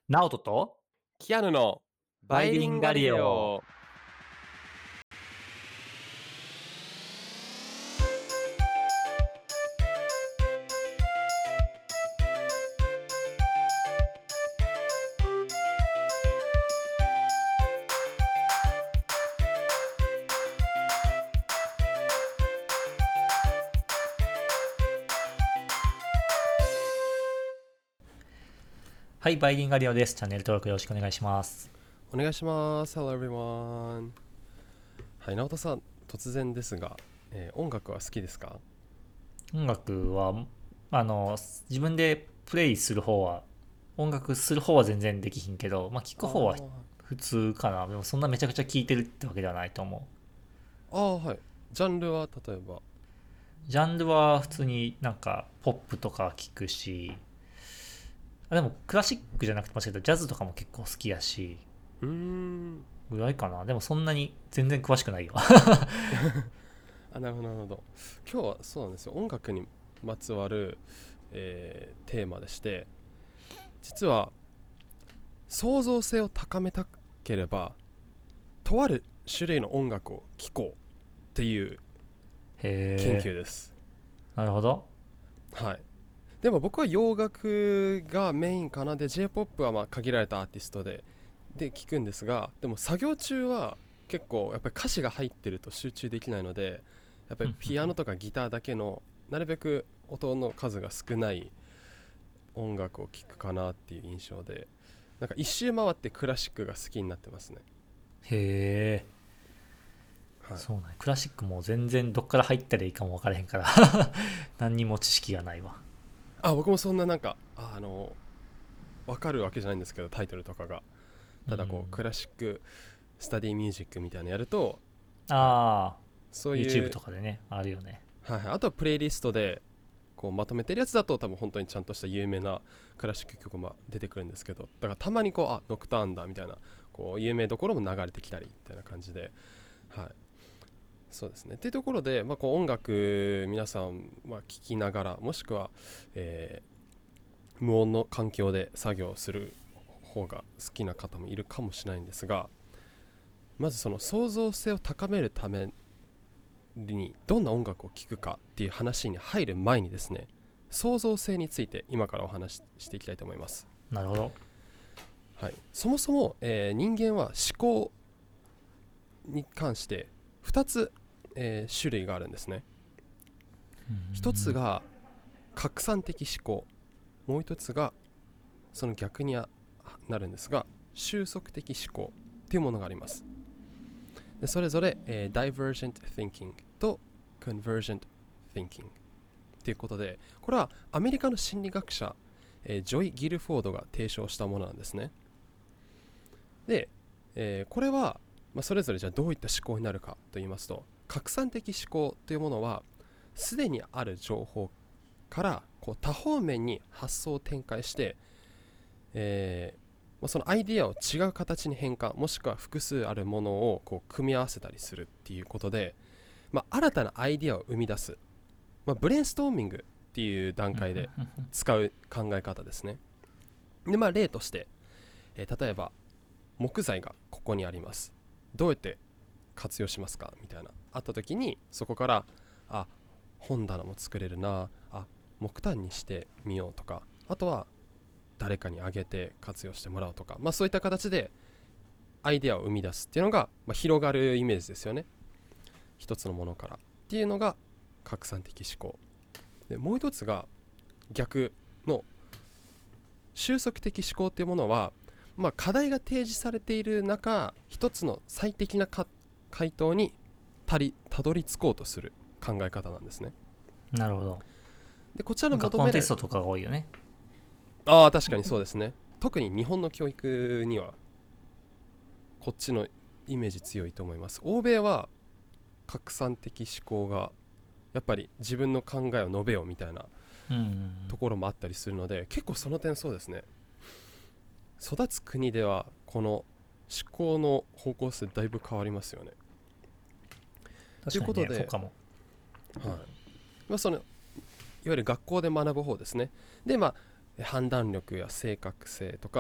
ナオトとキアヌのバイリンガリオ。はい、バイリンガリオです。チャンネル登録よろしくお願いします。 お願いします。Hello everyone。はい、直人さん、突然ですが、音楽は好きですか？ 音楽は自分でプレイする方は音楽する方は全然できひんけど、聞く方は普通かな。でもそんなめちゃくちゃ聴いてるってわけではないと思はい。ジャンルは例えば？ う。ジャンルは普通にポップとか聞くし、でもクラシックじゃなくてもしかしたらジャズとかも結構好きやし、 うーん。 ぐらいかな。でもそんなに全然詳しくないよ。 なるほどなるほど。今日はそうなんですよ。音楽にまつわる、テーマでして、実は創造性を高めたければ、とある種類の音楽を聴こうっていう研へえ、 究です。 なるほど。 はい。でも僕は洋楽がメインかな。で J-POP は限られたアーティストで聞くんですが、でも作業中は結構やっぱり歌詞が入ってると集中できないので、やっぱりピアノとかギターだけのなるべく音の数が少ない音楽を聴くかなっていう印象で、なんか一周回ってクラシックが好きになってますね。 へえ、 はい。 そうね。クラシックも全然どっから入ったらいいかも分からへんから何にも知識がないわ。 僕もそんなわかるわけじゃないんですけど、タイトルとかが。ただこううん。 クラシックスタディミュージックみたいなのやると、はい、 ああ、 そうい YouTube う、 とかでね、あるよね。 はいはい、あとはプレイリストでこうまとめてるやつだと多分本当にちゃんとした有名なクラシック曲も出てくるんですけど、だからたまにこうノクターンだみたいなこう有名どころも流れてきたりみたいな感じで、はい、そうですねっていうところで、こう音楽皆さんは聴きながら、もしくは、無音の環境で作業する方が好きな方もいるかもしれないんですが、まずその創造性を高めるためにどんな音楽を聴くかっていう話に入る前にですね、創造性について今からお話ししていきたいと思います。 なるほど。 はい、そもそも、人間は思考に関して2つ、種類があるんですね。1つが拡散的思考、もう1つがその逆になるんですが収束的思考っていうものがあります。でそれぞれ、Divergent Thinking と Convergent Thinking ということで、これはアメリカの心理学者、ジョイ・ギルフォードが提唱したものなんですね。で、これは、それぞれじゃあどういった思考になるかと言いますと、拡散的思考というものはすでにある情報からこう多方面に発想を展開して、そのアイディアを違う形に変換、もしくは複数あるものをこう組み合わせたりするっていうことで、新たなアイディアを生み出す、ブレインストーミングっていう段階で使う考え方ですね。で、例として、例えば木材がここにあります、どうやって活用しますかみたいなあった時に、そこから本棚も作れるな、木炭にしてみようとか、あとは誰かにあげて活用してもらうとか、そういった形でアイデアを生み出すっていうのが、広がるイメージですよね。一つのものからっていうのが拡散的思考で、もう一つが逆の収束的思考っていうものは、課題が提示されている中、一つの最適な回答にたどり着こうとする考え方なんですね。 なるほど。 でこちらの学校の求める、 テストとかが多いよね。 確かにそうですね。特に日本の教育にはこっちのイメージ強いと思います。欧米は拡散的思考がやっぱり自分の考えを述べようみたいなうん。 ところもあったりするので、結構その点そうですね。育つ国ではこの思考の方向性だいぶ変わりますよね。とい確かにね、そううことで、 かも。 はい、そのいわゆる学校で学ぶ方ですね。で、判断力や正確性とか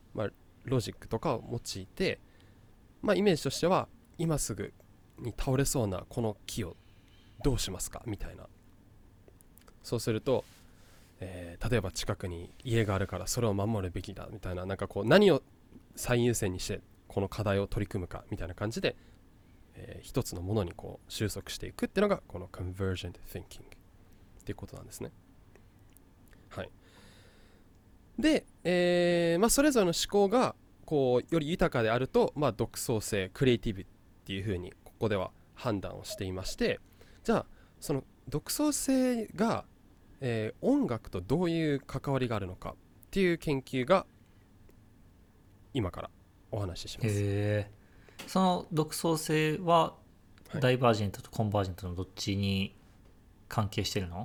まあ、ロジックとかを用いて、まあ、イメージとしては今すぐに倒れそうなこの木をどうしますかみたいな。そうすると、例えば近くに家があるからそれを守るべきだみたいな、なんかこう何を最優先にしてこの課題を取り組むかみたいな感じで、一つのものにこう収束していくっていうのがこの convergent thinking っていうことなんですね。はい。で、まあ、それぞれの思考がこうより豊かであると、まあ、独創性クリエイティブっていうふうにここでは判断をしていまして、じゃあその独創性が、音楽とどういう関わりがあるのかっていう研究が今からお話しします。 へえ。その独創性ははい、 ダイバージェントとコンバージェントのどっちに関係してるの？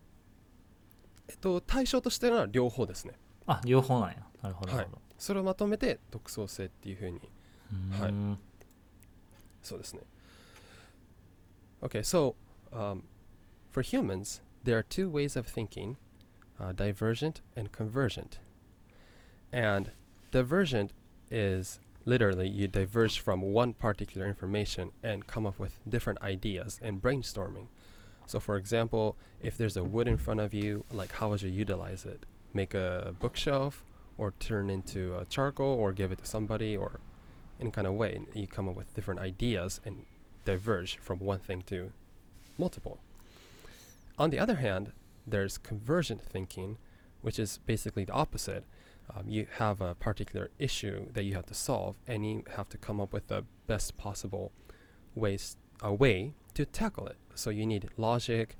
対象としては両方ですね。 あ、両方なんや。なるほどなはい。 るほど。 それをまとめて独創性っていうふうに、はい、そうですね。Okay, so for humans, there are two ways of thinking, divergent and convergent. And divergent is literally you diverge from one particular information and come up with different ideas and brainstorming. So, for example, if there's a wood in front of you, like how would you utilize it? Make a bookshelf, or turn into a charcoal, or give it to somebody, or any kind of way. You come up with different ideas and diverge from one thing to multiple. On the other hand, there's convergent thinking, which is basically the opposite. You have a particular issue that you have to solve, and you have to come up with the best possible way to tackle it. So you need logic,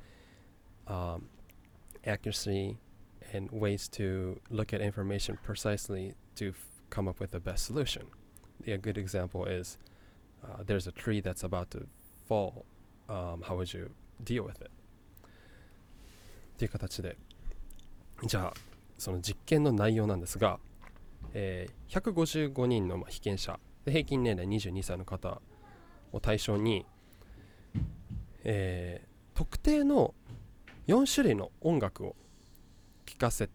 accuracy, and ways to look at information precisely to come up with the best solution. A good example is there's a tree that's about to fall. How would you deal with it? っていう形で、じゃあその実験の内容なんですが、155人の被験者で平均年齢22歳の方を対象に、特定の4種類の音楽を聴かせ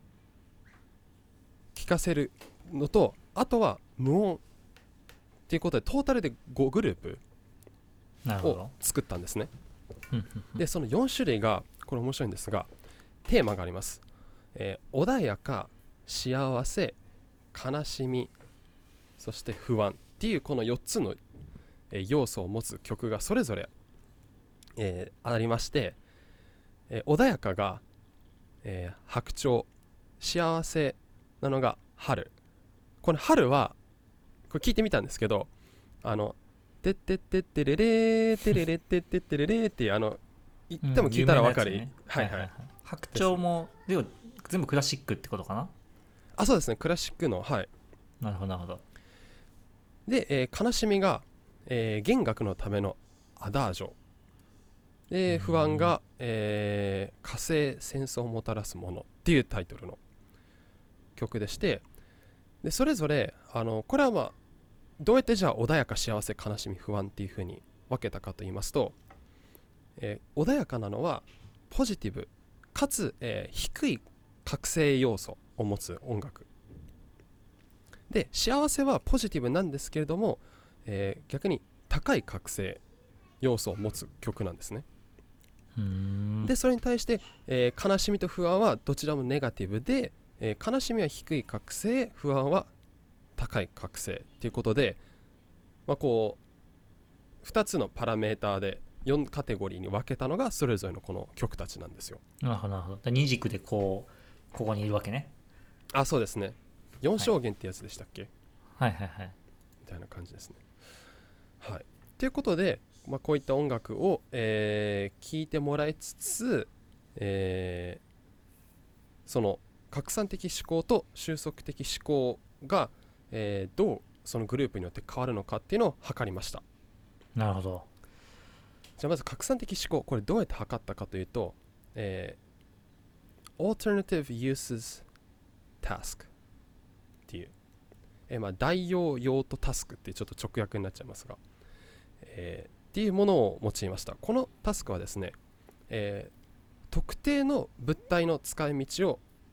るのと、あとは無音っていうことでトータルで5グループを作ったんですね。でその4種類がこれ面白いんですが、テーマがあります。穏やか、幸せ、悲しみ、そして不安っていうこの4つの、要素を持つ曲がそれぞれ、ありまして、穏やかが、白鳥、幸せなのが春。この春はこれ聞いてみたんですけど、てってってってれれーてれれってってってれれーっていう言っても聞いたら分かる、 ね、 はいはい、 白鳥もでも全部クラシックってことかな。 あ、そうですね、クラシックの、はい。 なるほどなるほど。 で、悲しみが、弦楽のためのアダージョで、不安が、火星戦争をもたらすものっていうタイトルの曲でして、でそれぞれこれはまあどうやってじゃあ穏やか幸せ悲しみ不安っていう風に分けたかと言いますと、穏やかなのはポジティブかつ、低い覚醒要素を持つ音楽で、幸せはポジティブなんですけれども、逆に高い覚醒要素を持つ曲なんですね。でそれに対して、悲しみと不安はどちらもネガティブで、悲しみは低い覚醒、不安は高い覚醒ということで、まあ、こう2つのパラメーターで4カテゴリーに分けたのがそれぞれのこの曲たちなんですよ。 なるほどなるほど。二軸でここにいるわけね。 あ、そうですね。4象限ってやつでしたっけ、 はいはいはい。 みたいな感じですね。はい。ということで、まあ、こういった音楽を、聴いてもらいつつ、その拡散的思考と収束的思考が、どうそのグループによって変わるのかっていうのを測りました。 なるほど。 じゃあまず拡散的思考、これどうやって測ったかというと、Alternative Uses Task っていう、まあ、代用用途タスクっていうちょっと直訳になっちゃいますが、っていうものを用いました。このタスクはですね、特定の物体の使い道を、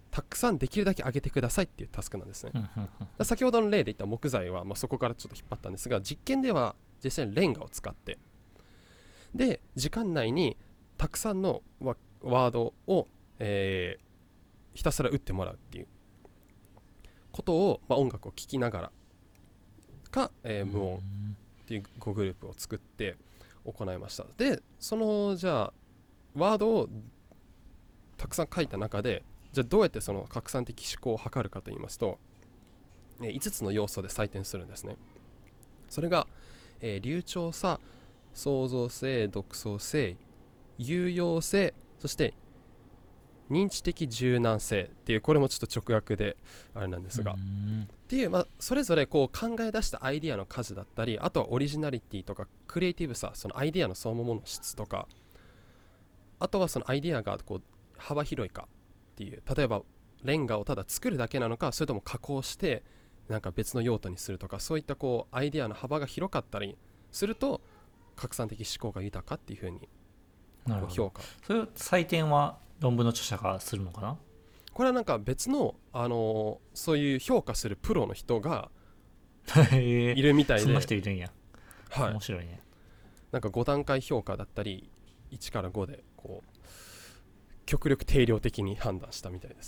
たくさんできるだけ上げてくださいっていうタスクなんですね。 うんうんうん先ほどの例で言った木材は、そこからちょっと引っ張ったんですが、実験では実際にレンガを使って、で時間内にたくさんのワードを、ひたすら打ってもらうっていうことを、音楽を聴きながらか、無音っていう5グループを作って行いました。でそのじゃあワードをたくさん書いた中で、じゃあどうやってその拡散的思考を測るかと言いますと、5つの要素で採点するんですね。それが、流暢さ、創造性、独創性、有用性、そして認知的柔軟性っていう、これもちょっと直訳であれなんですが、っていう、それぞれこう考え出したアイディアの数だったり、あとはオリジナリティとかクリエイティブさ、そのアイディアのそのものの質とか、あとはそのアイディアがこう幅広いかっていう、例えばレンガをただ作るだけなのか、それとも加工してなんか別の用途にするとか、そういったこうアイディアの幅が広かったりすると拡散的思考が豊かっていう風になるほど。 評価。 それ採点は論文の著者がするのかな？ これはなんか別の、そういう評価するプロの人がへいるみたいで、 そんな人いるんや。 はい、 面白いね。 なんか5段階評価だったり1から5でこう極力定量的に判断したみたいです。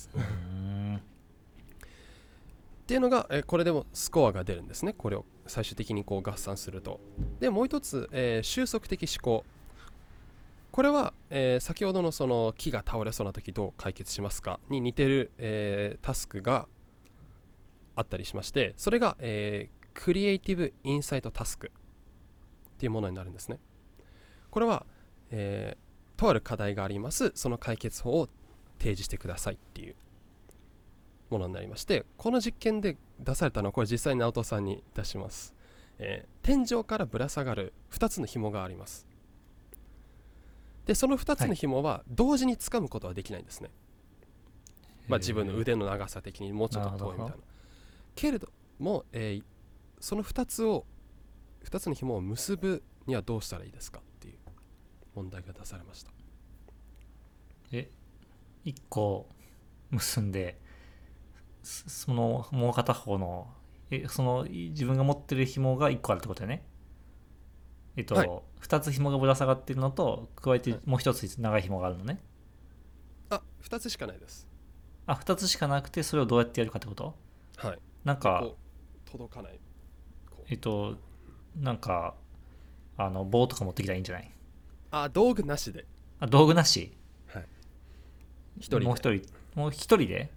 っていうのが、これでもスコアが出るんですね。これを最終的にこう合算すると。でもう一つ、収束的思考。これは、先ほどのその木が倒れそうな時どう解決しますかに似てる、タスクがあったりしまして、それが、クリエイティブインサイトタスクっていうものになるんですね。これは、とある課題があります。その解決法を提示してくださいっていうものになりまして、この実験で出されたのは、これ実際に直人さんに出します。天井からぶら下がる2つの紐があります。でその2つの紐は同時に掴むことはできないんですね。自分の腕の長さ的にもうちょっと遠いみたいな。けれども、その2つの紐を結ぶにはどうしたらいいですかっていう問題が出されました。 1個結んで、そのもう片方のその自分が持ってる紐が1個あるってことだよね。 はい、 2つ紐がぶら下がってるのと加えてもう1つ長い紐があるのね。 2つしかないです。 2つしかなくて、それをどうやってやるかってこと？ はい。 なんかこう届かない。 なんか棒とか持ってきたらいいんじゃない？ 道具なしで。 道具なし？ はい。一人で。 もう一人で？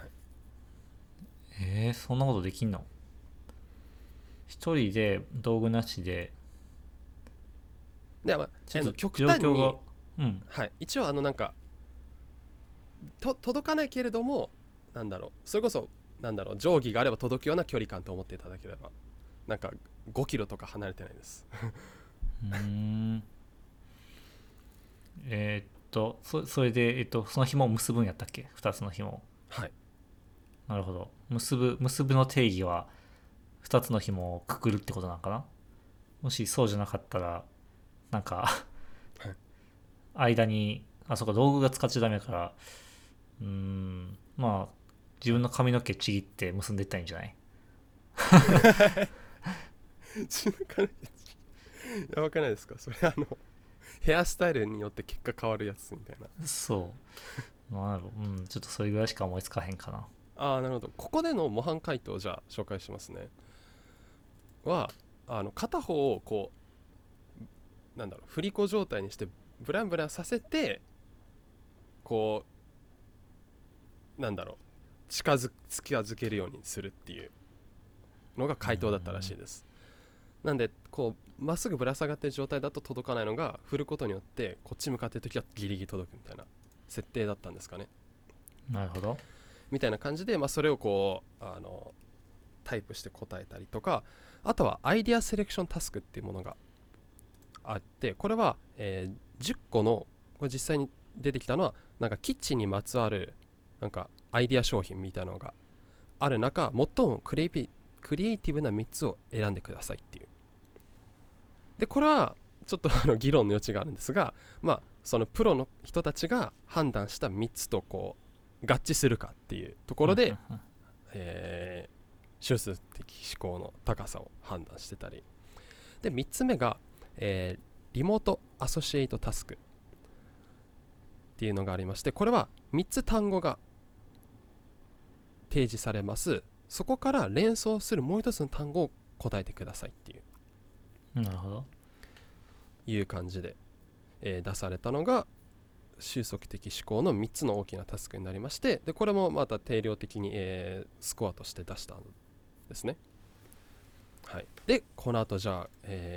はい、 そんなことできんの？一人で道具なしで。 で極端に、はい、一応なんか届かないけれども、それこそ定規があれば届くような距離感と思っていただければ、なんか5キロとか離れてないです。 それで、その紐を結ぶんやったっけ？2つの紐。 はい。 なるほど。結ぶの定義は2つの紐をくくるってことなのかな？もしそうじゃなかったら、なんか間にそうか、道具が使っちゃダメから、自分の髪の毛ちぎって結んでいったらいいんじゃない？ やばくないですかそれ？ヘアスタイルによって結果変わるやつみたいな。 そう。ちょっとそれぐらいしか思いつかへんかな。 なるほど。ここでの模範解答をじゃあ紹介しますね。は片方をこう振り子状態にしてブランブランさせて、こう近づけるようにするっていうのが回答だったらしいです。なんでこうまっすぐぶら下がってる状態だと届かないのが、振ることによってこっち向かってる時はギリギリ届くみたいな設定だったんですかね。 なるほど。 みたいな感じで、それをこうタイプして答えたりとか、あとはアイディアセレクションタスクっていうものがあって、これは、10個の、これ実際に出てきたのはなんかキッチンにまつわるなんかアイディア商品みたいなのがある中、最もクリエイティブな3つを選んでくださいっていう。でこれはちょっと議論の余地があるんですが、そのプロの人たちが判断した3つとこう合致するかっていうところで、修数的思考の高さを判断してたり、で3つ目が、リモートアソシエイトタスクっていうのがありまして、これは3つ単語が提示されます。そこから連想するもう一つの単語を答えてくださいってなるほど。 いう感じで、出されたのが収束的思考の3つの大きなタスクになりまして、でこれもまた定量的に、スコアとして出したんですね。はい、でこの後じゃあ、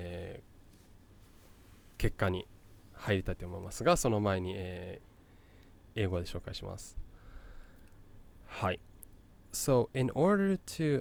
結果に入りたいと思いますが、その前に、英語で紹介します。はい。So in order to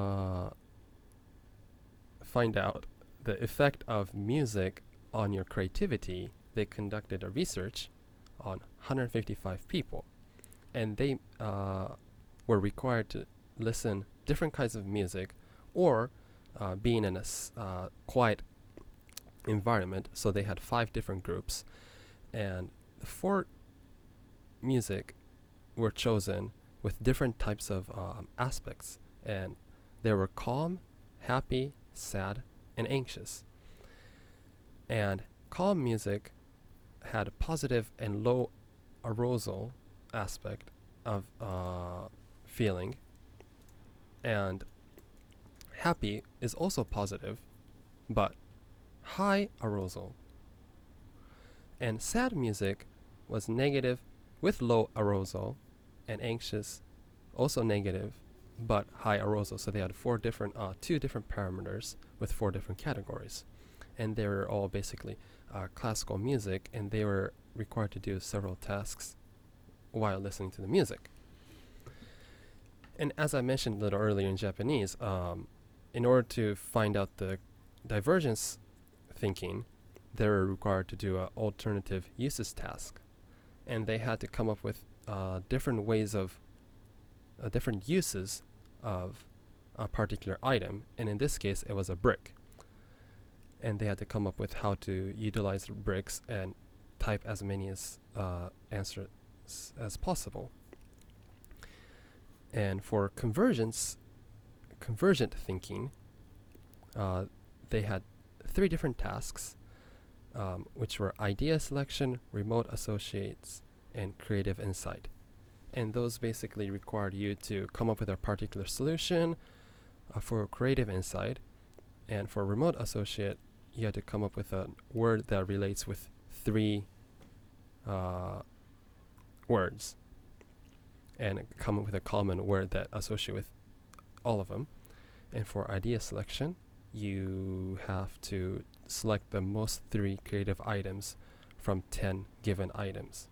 find out the effect of music on your creativity, they conducted a research on 155 people, and they were required to listen different kinds of music or being in a quiet environment. So they had 5 different groups, and 4 music were chosen with different types of aspects, and they were calm, happy, sad, and anxious. And calm music had a positive and low arousal aspect of feeling, and happy is also positive but high arousal, and sad music was negative with low arousal, and anxious also negative but high arousal. So they had 2 different parameters with 4 different categories, and they were all basically classical music, and they were required to do several tasks while listening to the music. And as I mentioned a little earlier in Japanese, in order to find out the divergence thinking, they were required to do an alternative uses task, and they had to come up with different ways of different uses of a particular item, and in this case it was a brick, and they had to come up with how to utilize bricks and type as many answers as possible. And for convergent thinking, they had 3 different tasks, which were idea selection, remote associates, and creative insight. And those basically required you to come up with a particular solution for creative insight. And for remote associate, you had to come up with a word that relates with 3 words, and come up with a common word that associate with all of them. And for idea selection, you have to select the most 3 creative items from 10 given items.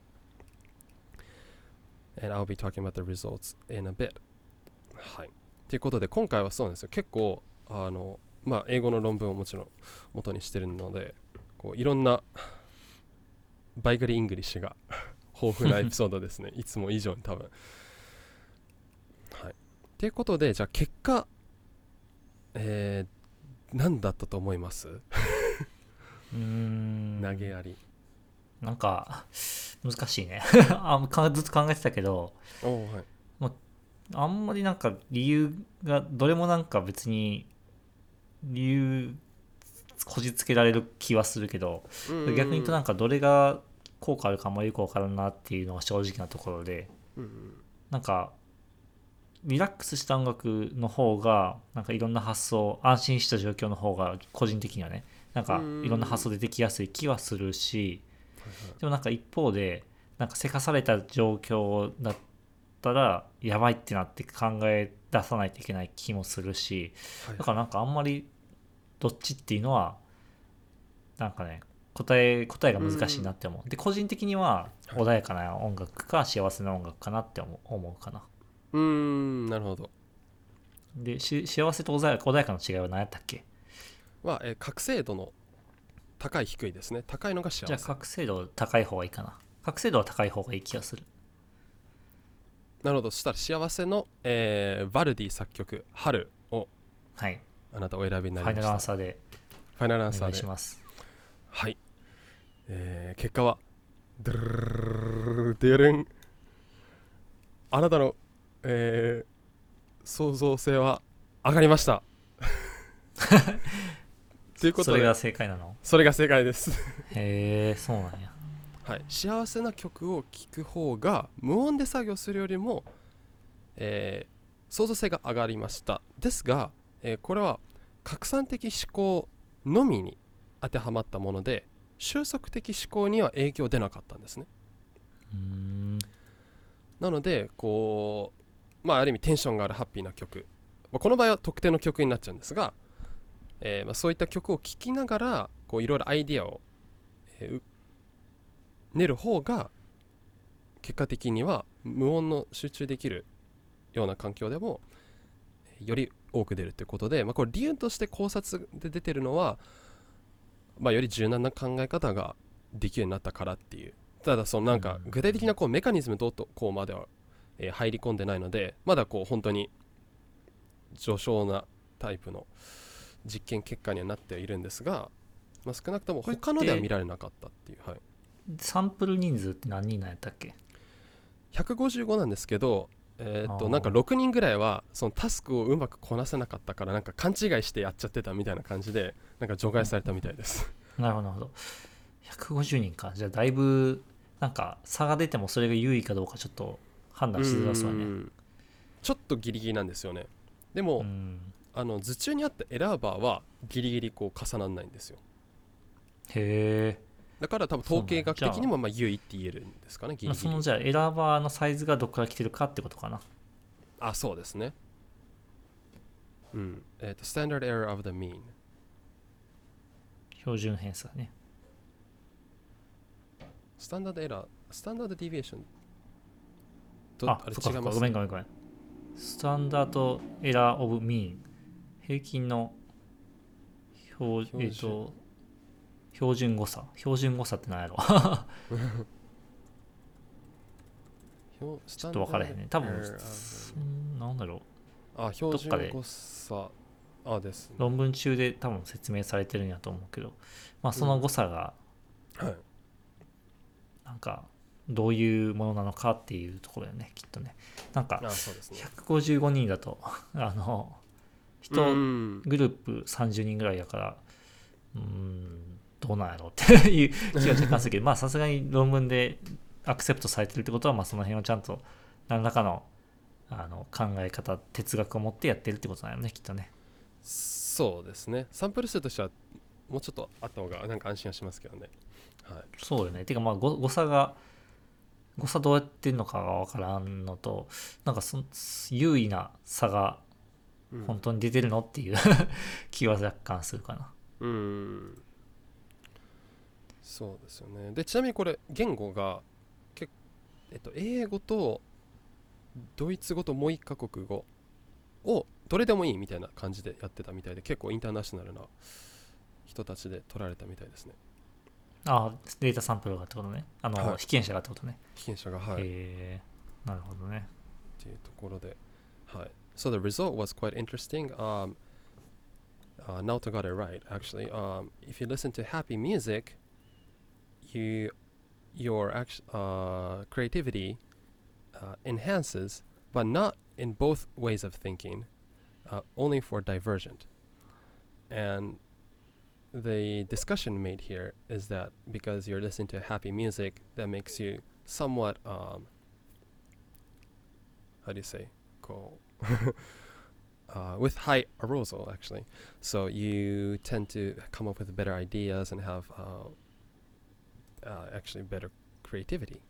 And I'll be talking about the results in a bit. はい。ということで今回はそうなんですよ。結構英語の論文をもちろん元にしてるので、こういろんなバイガリイングリッシュが豊富なエピソードですね。いつも以上に多分。はい。ということでじゃあ結果、何だったと思います？投げやり。 なんか難しいねずっと考えてたけど、はい、あんまりなんか理由がどれもなんか別に理由こじつけられる気はするけど、逆に言うとなんかどれが効果あるかあんまりよく分からんなっていうのが正直なところで、なんかリラックスした音楽の方がなんかいろんな発想、安心した状況の方が個人的にはねなんかいろんな発想出てきやすい気はするし、でもなんか一方でなんかせかされた状況だったらやばいってなって考え出さないといけない気もするし、だからなんかあんまりどっちっていうのはなんかね答えが難しいなって思う。で個人的には穏やかな音楽か幸せな音楽かなって思うかな。 なるほど。 で幸せと穏やかの違いは何やったっけ？ は、覚醒度の高い低いですね。高いのが幸せ。 じゃあ覚醒度高い方がいいかな。覚醒度は高い方がいい気がする。 なるほど。そしたら幸せの、バルディ作曲春を、 はい、 あなたお選びになりました。 ファイナルアンサーでファイナルアンサーでお願いします。 はい、結果はドゥルルルルルルンあなたの、創造性は上がりましたということでそれが正解なの？ それが正解ですへえ、そうなんや。 はい、幸せな曲を聴く方が無音で作業するよりも、創造性が上がりましたですが、これは拡散的思考のみに当てはまったもので収束的思考には影響出なかったんですね。 うーん。 なのでこう、まあ、ある意味テンションがあるハッピーな曲、まあ、この場合は特定の曲になっちゃうんですが、まあ、そういった曲を聴きながらこういろいろアイディアを、練る方が結果的には無音の集中できるような環境でもより多く出るということで、まあ、これ理由として考察で出てるのは、まあ、より柔軟な考え方ができるようになったからっていう。ただそのなんか具体的なこうメカニズムどうとこうまでは入り込んでないので、まだこう本当に序章なタイプの実験結果にはなっているんですが、まあ、少なくとも他のでは見られなかったっていう、はい、 サンプル人数って何人なんやったっけ？ 155なんですけど、なんか6人ぐらいはそのタスクをうまくこなせなかったからなんか勘違いしてやっちゃってたみたいな感じでなんか除外されたみたいです。 なるほどなるほど。150人か。じゃあだいぶなんか差が出てもそれが優位かどうかちょっと判断しづらそうやね。 ちょっとギリギリなんですよね。でも、図中にあったエラーバーはギリギリこう重ならないんですよ。 へえ。 だから多分統計学的にもまあ優位って言えるんですかね、ギリギリ。 そのじゃあエラーバーのサイズがどこから来てるかってことかな。 あ、そうですね。うん。Standard Error of the Mean。 標準偏差ね。 スタンダードエラー、スタンダードディビエーションあれ違います。ごめん。スタンダードエラーオブミーン。平均の標準誤差。標準誤差って何やろちょっと分からへんね。多分、なんだろう。標準誤差。です、ね。 論文中で多分説明されてるんやと思うけど、まあその誤差が、なんか、どういうものなのかっていうところだよね、きっとね。なんか、155人だと、人グループ30人ぐらいだから、どうなんやろうっていう気は若干するけど、まあさすがに論文でアクセプトされてるってことは、まあその辺をちゃんと何らかの考え方、哲学を持ってやってるってことなんよね、きっとね。 そうですね。サンプル数としてはもうちょっとあった方がなんか安心はしますけどね。はい、 そうよね。てかまあ誤差どうやってんのかが分からんのと、なんか優位な差が本当に出てるのっていう気は若干するかな。 そうですよね。でちなみにこれ言語が英語とドイツ語ともう一カ国語をどれでもいいみたいな感じでやってたみたいで、結構インターナショナルな人たちで取られたみたいですね。 ああ、データサンプルがってことね。被験者がってことね。 被験者が、はい。 なるほどね。 っていうところで、はい。So the result was quite interesting. Naoto got it right, actually. If you listen to happy music, your creativity enhances, but not in both ways of thinking, only for divergent. And the discussion made here is that because you're listening to happy music, that makes you somewhat, how do you say, with high arousal, actually. So you tend to come up with better ideas and have actually better creativity.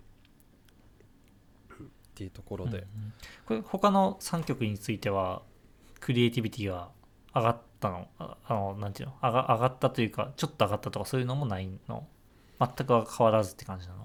っていうところで、 これ他の3曲についてはクリエイティビティが上がったの？なんていうの？上がったというかちょっと上がったとかそういうのもないの？全く変わらずって感じなの？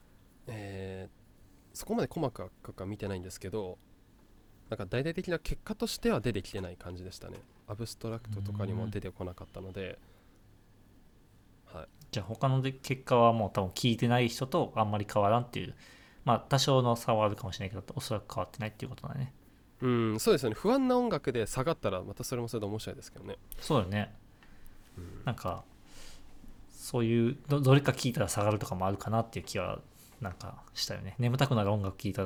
そこまで細かくは見てないんですけど、なんか大々的な結果としては出てきてない感じでしたね。アブストラクトとかにも出てこなかったので、はい、 じゃあ他の結果はもう多分聞いてない人とあんまり変わらんっていう、まあ多少の差はあるかもしれないけどおそらく変わってないっていうことだね。 そうですよね。不安な音楽で下がったらまたそれもそれで面白いですけどね。 そうよね。なんかそういうどれか聞いたら下がるとかもあるかなっていう気はなんかしたよね。眠たくなる音楽聞いたら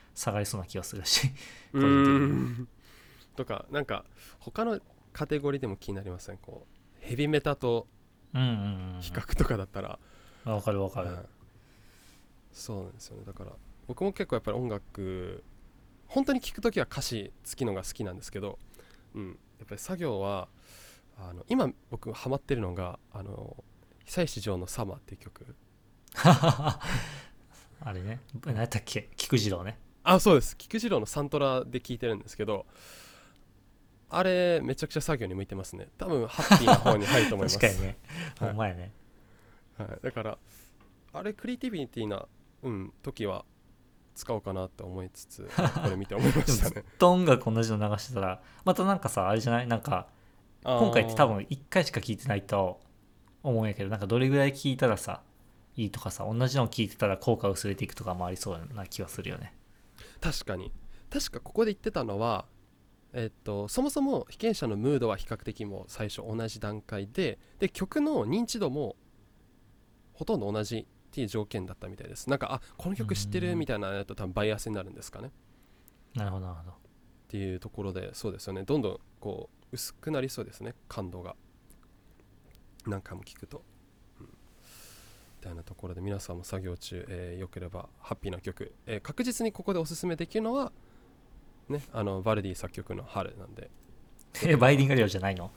下がりそうな気がするしう個人的に。 んとかなんか他のカテゴリーでも気になりません？こうヘビメタとうんうん比較とかだったら、 うん、わかるわかる。 そうなんですよね。だから僕も結構やっぱり音楽本当に聴くときは歌詞付きのが好きなんですけど、やっぱり作業は今僕ハマってるのが久石譲の「サマー」っていう曲。 あれね、何やったっけ、菊次郎ね。 そうです、菊次郎のサントラで聴いてるんですけど、あれめちゃくちゃ作業に向いてますね。多分ハッピーな方に入ると思います確かにね、 はいほんまやね。 だからあれクリエイティビティな、時は使おうかなって思いつつ、これ見て思いまでもずっしたね。 と音楽同じの流してたら、またなんかさ、あれじゃない、なんか今回って多分1回しか聞いてないと思うんやけど、なんかどれぐらい聞いたらさいいとかさ、同じの聞いてたら効果薄れていくとかもありそうな気がするよね。 確かに。確かここで言ってたのは、そもそも被験者のムードは比較的もう最初同じ段階で曲の認知度もほとんど同じっていう条件だったみたいです。なんかこの曲知ってるみたいなのだと多分バイアスになるんですかねなるほどなるほど。 っていうところで、そうですよね、どんどんこう薄くなりそうですね、感動が何回も聞くと、みたいなところで皆さんも作業中、よければハッピーな曲、確実にここでおすすめできるのはね、バルディ作曲の春なんで。 バイリンガリオじゃないの？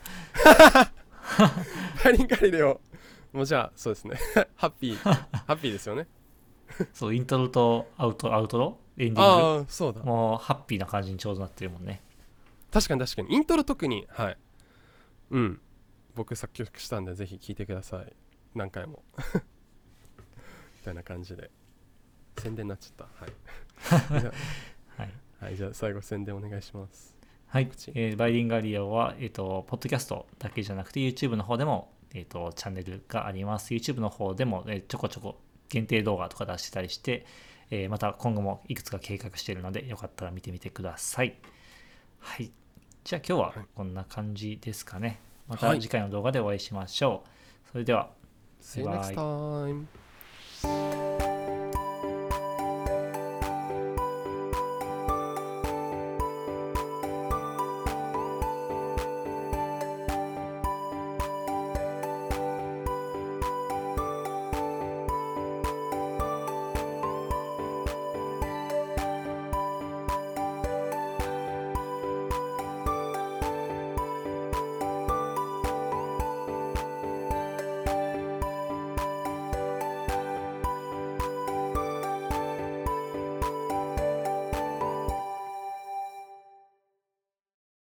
バイリンガリレオもうじゃあそうですねハッピーですよね。 そう、イントロとアウトロエンディングそうだ、 もうハッピーな感じにちょうどなってるもんね。 確かにイントロ特に僕作曲したんでぜひ聴いてください、何回もみたいな感じで宣伝になっちゃったじゃはいあ、じゃあ最後宣伝お願いします。 はい、バイリンガリオは、ポッドキャストだけじゃなくて YouTube の方でも、チャンネルがあります。YouTube の方でも、ちょこちょこ限定動画とか出してたりして、また今後もいくつか計画しているのでよかったら見てみてください。はい、じゃあ今日はこんな感じですかね。また次回の動画でお会いしましょう。それでは、 See you next time.